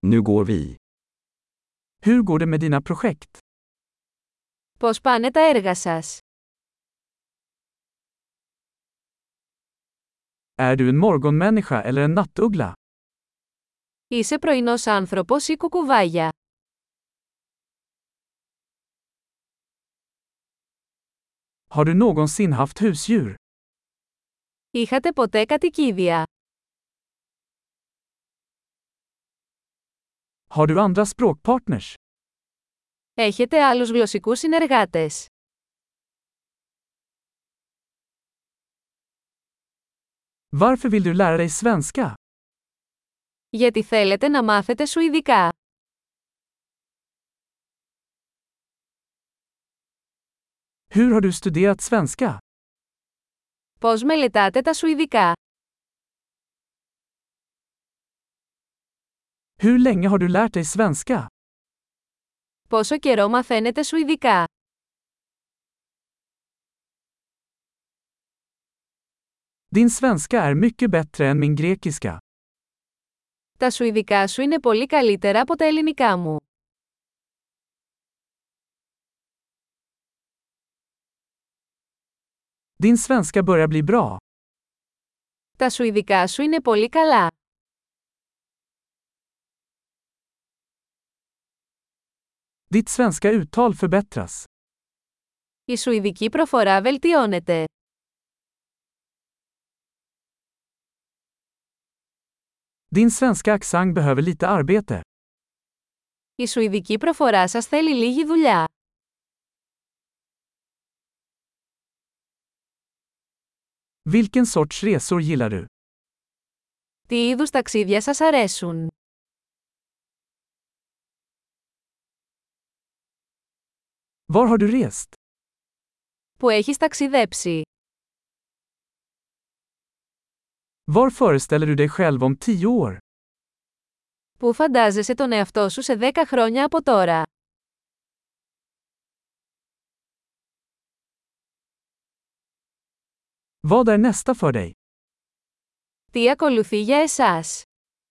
Nu går vi. Hur går det med dina projekt? Πώς πάνε τα έργα σας? Är du en morgonmänniska eller en nattuggla? Είσαι πρωινός άνθρωπος ή κουκουβάγια? Har du någonsin haft husdjur? Είχατε ποτέ κατοικίδια? Har du andra språkpartners? Έχετε άλλους γλωσσικούς συνεργάτες? Varför vill du lära dig svenska? Γιατί θέλετε να μάθετε σουηδικά? Hur har du studerat svenska? Πώς μελετάτε τα σουηδικά? Hur länge har du lärt dig svenska? Πόσο καιρό μαθαίνετε σουηδικά? Din svenska är mycket bättre än min grekiska. Τα σουηδικά σου είναι πολύ καλύτερα από τα ελληνικά μου. Din svenska börjar bli bra. Τα σουηδικά σου είναι πολύ καλά. Ditt svenska uttal förbättras. Η σουηδική προφορά βελτιώνεται. Din svenska accent behöver lite arbete. Η σουηδική προφορά σας θέλει λίγη δουλειά. Vilken sorts resor gillar du? Τι είδους ταξίδια σας αρέσουν? Var har du rest? Που έχεις ταξιδέψει? Var föreställer du dig själv om 10 år? Πού φαντάζεσαι τον εαυτό σου σε 10 χρόνια από τώρα? Vad är nästa för dig? Τι ακολουθεί για εσάς?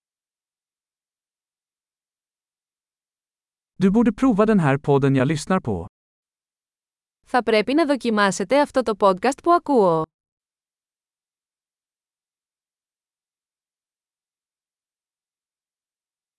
Du borde prova den här podden jag lyssnar på. Θα πρέπει να δοκιμάσετε αυτό το podcast που ακούω.